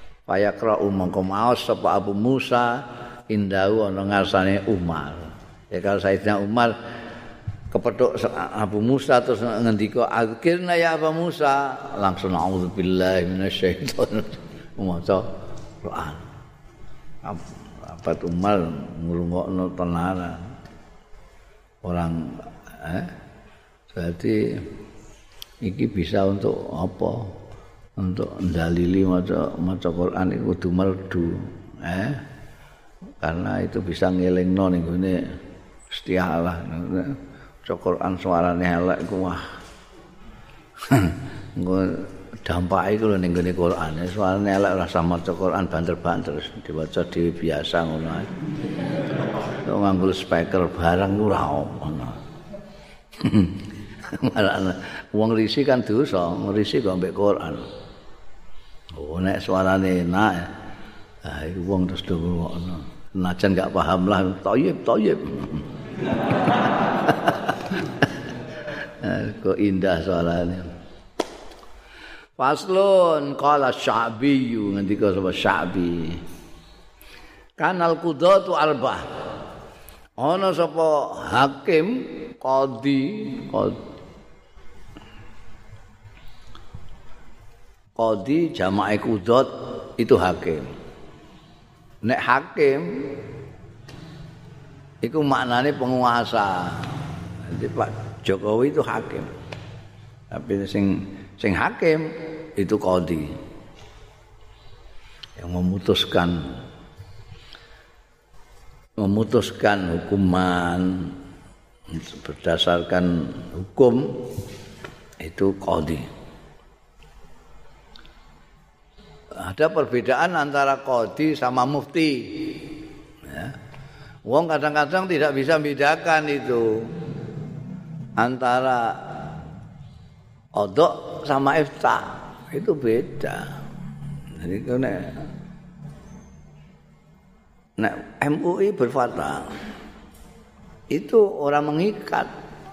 Fayaqra mongko maos sapa Abu Musa indahu ana ngarsane Umar. Ya kalau Sayyidina Umar kepethuk Abu Musa terus ngendika akhirna ya Abu Musa langsung auzubillahi minasyaitonir maca Quran. Abad Umar ngrungokno tenanan. Orang jadi iki bisa untuk apa? Untuk ndalili maca Quran iku kudu merdu. Karena itu bisa ngelingno ning gone Gusti Allah. Maca Quran suarane elek iku wah. Engko dampake iku lho ning gone Quran. Suarane elek ora sama maca Quran banter-banter diwaca dhewe biasa ngono ae. Kok nganggo speaker barang ora ono. Malah wong risi kan dosa, ngrisi kok mbek Quran. Oh nek suarane enak. Ah iku wong terus do ngono. Najan gak paham lah thayyib. Kok indah suarane. Faslun qala Sya'bi ngendika sapa Sya'bi. Kanal qudatu arbah. Ana sapa hakim qadi jamae qudat itu hakim. Nek hakim iku maknane penguasa. Jadi Pak Jokowi itu hakim. Tapi sing hakim itu qadi. Yang memutuskan hukuman berdasarkan hukum itu qadi. Ada perbedaan antara qadi sama mufti. Ya. Wong kadang-kadang tidak bisa membedakan itu antara qada sama ifta. Itu beda. Jadi nek MUI berfatwa itu orang mengikat.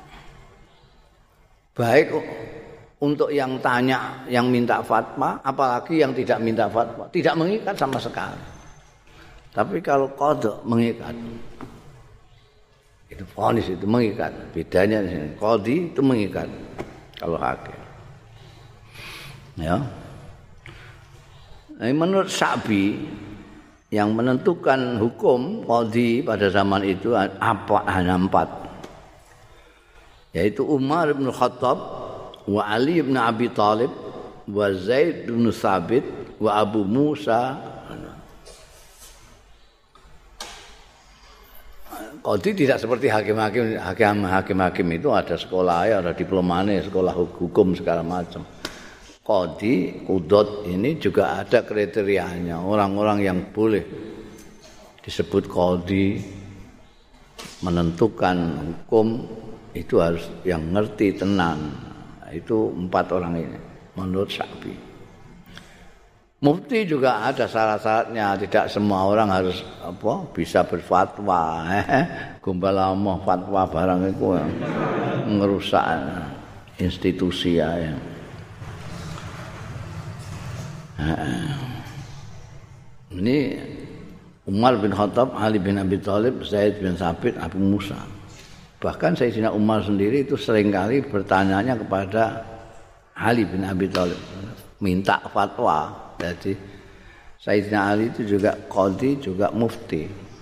Baik untuk yang tanya, yang minta fatwa, apalagi yang tidak minta fatwa, tidak mengikat sama sekali. Tapi kalau qada mengikat, itu vonis itu mengikat. Bedanya di sini, qadi itu mengikat. Kalau hakim, ya. Nah, menurut Sya'bi yang menentukan hukum qadi pada zaman itu hanya 4, yaitu Umar bin Khattab, wa Ali bin Abi Thalib, wa Zaid bin Thabit, wa Abu Musa. Qadi tidak seperti hakim-hakim itu ada sekolah, ada diplomane, sekolah hukum segala macam. Qadi, qudot ini juga ada kriterianya. Orang-orang yang boleh disebut qadi menentukan hukum itu harus yang ngerti tenan. Itu 4 orang ini menurut Sya'bi. Mufti juga ada syarat-syaratnya. Tidak semua orang harus bisa berfatwa. Gombal amah fatwa barang itu ngerusak institusi ya. Ini Umar bin Khattab, Ali bin Abi Thalib, Zaid bin Thabit, Abu Musa. Bahkan Sayyidina Umar sendiri itu seringkali bertanyanya kepada Ali bin Abi Thalib, minta fatwa. Jadi Sayyidina Ali itu juga qadi, juga mufti.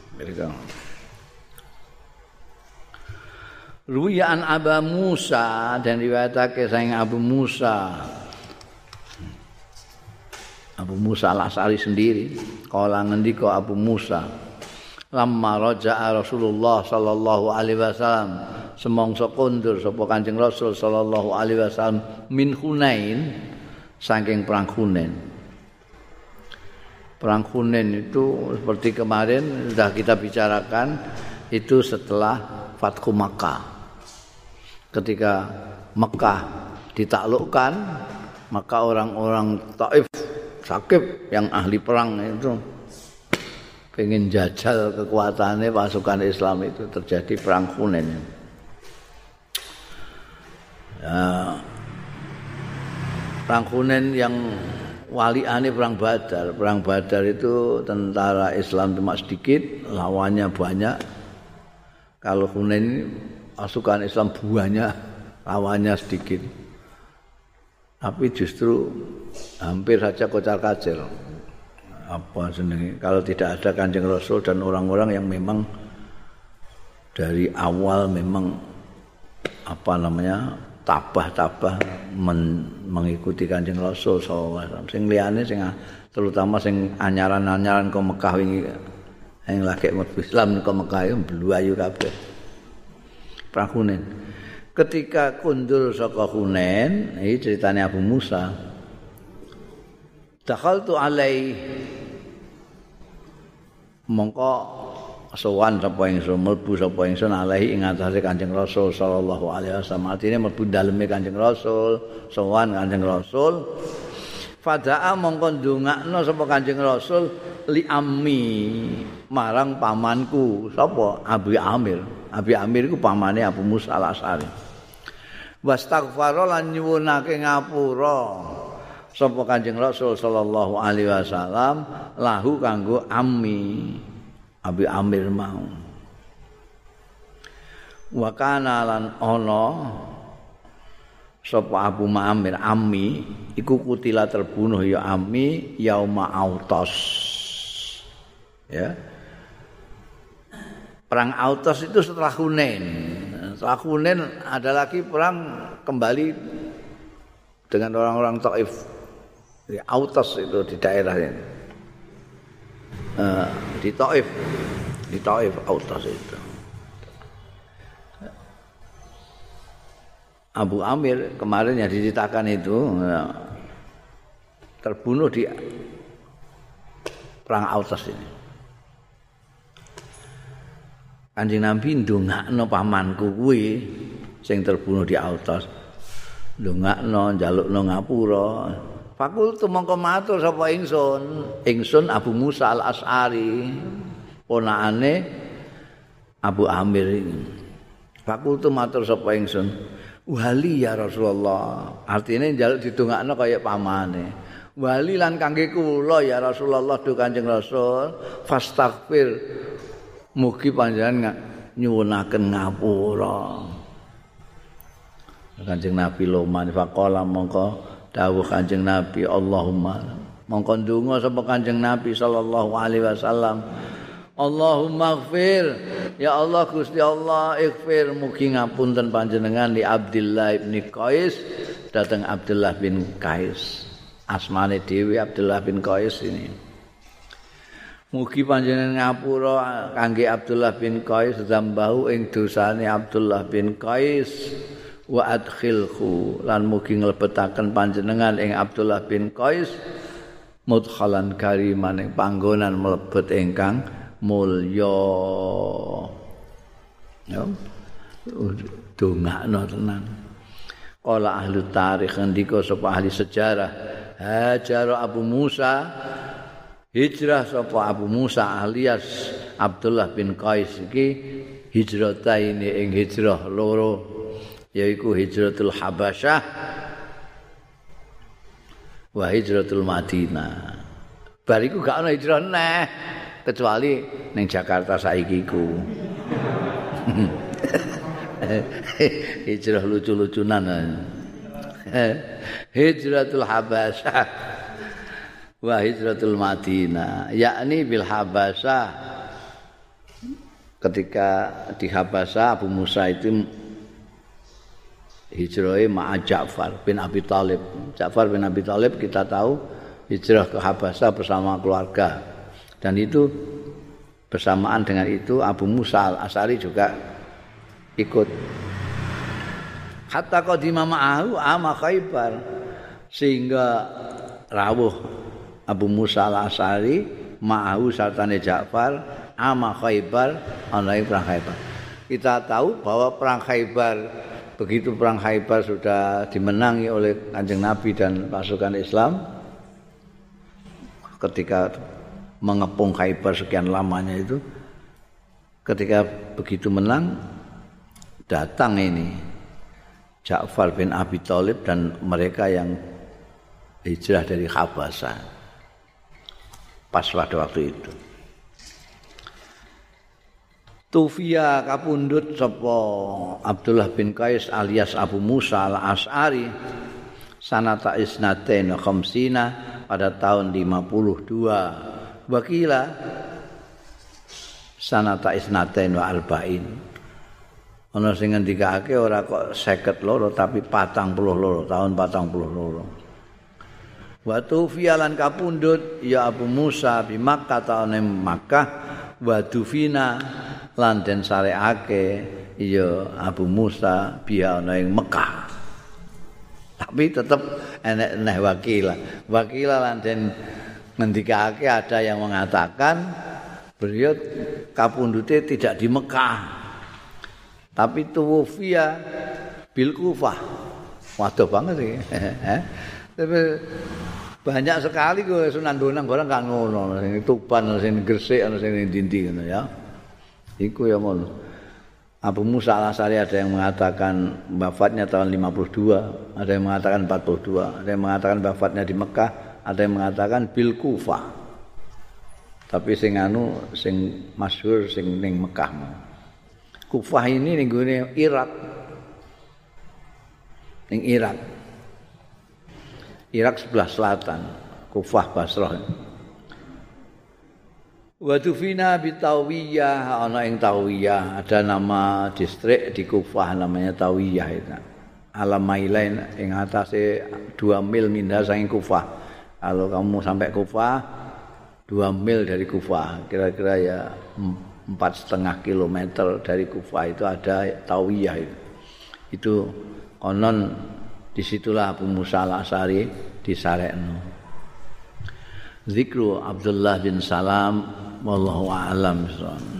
Ruwiya an Abu Musa, dan riwayatake saking Abu Musa. Abu Musa Al-Asy'ari sendiri kala ngendika Abu Musa lamma raja'a Rasulullah sallallahu alaihi wasallam semangsa kondur sapa Kanjeng Rasul sallallahu alaihi wasallam min Hunain saking perang Hunain. Perang Hunain itu seperti kemarin sudah kita bicarakan itu setelah Fathu Makkah. Ketika Mekah ditaklukkan, maka orang-orang Taif Sakif yang ahli perang itu pengen jajal kekuatannya pasukan Islam itu, terjadi perang Hunain. Ya, perang Hunain yang waliane perang Badar. Perang Badar itu tentara Islam cuma sedikit, lawannya banyak. Kalau Hunain ini pasukan Islam banyak, lawannya sedikit. Tapi justru hampir saja kocar-kacir. Apa senengnya? Kalau tidak ada Kanjeng Rasul dan orang-orang yang memang dari awal memang tabah-tabah mengikuti Kanjeng Rasul SAW. Sing liyane sing terutama sing anyaran-anyaran ke Mekah wingi yang lagi mlebu Islam ke Mekah itu bluayu kabeh. Perang Hunain. Ketika kundur saka Hunain, iki ceritane Abu Musa. Dakhaltu alai mongko sowan sapa ingsun mlebu sapa ingsun alaihi ing atase Kanjeng Rasul sallallahu alaihi wasallam. Artine mlebu daleme Kanjeng Rasul, sowan Kanjeng Rasul. Fada'a mongko ndongakno sapa Kanjeng Rasul li ammi marang pamanku sapa Abi Amir. Abi Amir iku pamane Abu Musa al-Asy'ari. Wastaghfara lan nyuwunake ngapura sapa Kanjeng Rasul sallallahu alaihi wasallam lahu kanggo ammi Abi Amir mau. Wa kana lan ana sapa Abu Amir ammi iku kutila terbunuh ya ammi yauma Autas. Ya. Perang Autas itu setelah Hunain. Setelah Hunain ada lagi perang kembali dengan orang-orang Taif. Di Autas itu di daerah ini. Di Taif Autas itu. Abu Amir kemarin yang diceritakan itu terbunuh di perang Autas ini. Kanjeng Nabi ndongakno pamanku kuwi sing terbunuh di Autas. Ndongakno njalukno ngapura. Fakultu mongko matur sapa ingsun. Ingsun Abu Musa al-Asy'ari, ponakane Abu Amir ini. Fakultu matur sapa ingsun. Wali ya Rasulullah. Artinya njaluk didongakno kaya pamane. Wali lan kangge kula ya Rasulullah do Kanjeng Rasul, fastaghfir. Mugi panjenengan nyuwunaken ngapura. Kanjeng Nabi loman faqala mongko dawuh Kanjeng Nabi Allahumma mongko ndonga sapa Kanjeng Nabi sallallahu alaihi wasallam Allahumma ighfir ya Allah Gusti Allah ighfir mugi ngapunten panjenengan li Abdullah bin Qais dateng Abdullah bin Qais asmane dhewe Abdullah bin Qais ini. Mugi panjenengan ngapura kangge Abdullah bin Qais zambahu ing dosane Abdullah bin Qais wa adkhilhu lan mugi nglebetaken panjenengan ing Abdullah bin Qais mudkhalan kariman ing panggonan mlebet ingkang mulya. Ya. Dongakno tenan. Qala ahli tarikh ngendika sapa ahli sejarah hajar Abu Musa hijrah sapa Abu Musa alias Abdullah bin Qais iki hijrataine ing hijrah loro yaiku hijratul Habasyah wa hijratul Madinah. Bariku gak ana hijrah neh kecuali ning Jakarta saiki iku. Hijrah lucu-lucunan. Hijratul Habasyah wa hijratul Madinah yakni bil Habasyah ketika di Habasyah Abu Musa itu hijrah ma'a Ja'far bin Abi Thalib. Ja'far bin Abi Thalib kita tahu hijrah ke Habasyah bersama keluarga dan itu bersamaan dengan itu Abu Musa al-Asy'ari juga ikut hatta qadima ma'ahu ama Khaibar sehingga rawuh Abu Musa al-Asy'ari ma'ahu sartane Ja'far ama Khaibar ana perang Khaibar. Kita tahu bahwa perang Khaibar begitu perang Khaibar sudah dimenangi oleh Kanjeng Nabi dan pasukan Islam ketika mengepung Khaibar sekian lamanya itu ketika begitu menang datang ini Ja'far bin Abi Thalib dan mereka yang hijrah dari Habasyah pas pada waktu itu. Tufia kapundhut sapa Abdullah bin Qais alias Abu Musa al-Asy'ari sanata isnatain khamsina pada tahun 52. Wakila sanata isnatain wa arba'in. Ana sing ngendikake ora kok 52 tapi 42 tahun 42. Wa tufiya lan kapundhut ya Abu Musa bi Makkah taune Makkah wa dufina lan den sareake ya Abu Musa biya ana ing Mekah. Tapi tetap enek wakila lan den ngendikake ada yang mengatakan beliau kapundhute tidak di Mekah. Tapi tuwfiya bil Kufah. Waduh banget iki. Tapi banyak sekali kok Sunan Bonang barang gak ngono, sing Tuban, sing Gresik, ana sing ndi ngono ya. Iku ya ngono. Abu Musa al-Asy'ari ada yang mengatakan wafatnya tahun 52, ada yang mengatakan 42, ada yang mengatakan wafatnya di Mekah, ada yang mengatakan bil Kufah. Tapi sing masyhur sing ning Mekah. Kufah ini ning gone Irak. Ning Irak. Irak sebelah selatan, Kufah Basrah. Wa dufina bi Tawiyah, ana ing Tawiyah, ada nama distrik di Kufah namanya Tawiyah itu. Alam Mailain ing atase 2 mil mindah saking Kufah. Kalau kamu sampai Kufah 2 mil dari Kufah, kira-kira ya 4,5 kilometer dari Kufah itu ada Tawiyah itu. Itu konon disitulah Abu Musa al-Asy'ari disarekno. Zikru Abdullah bin Salam wallahu a'lam.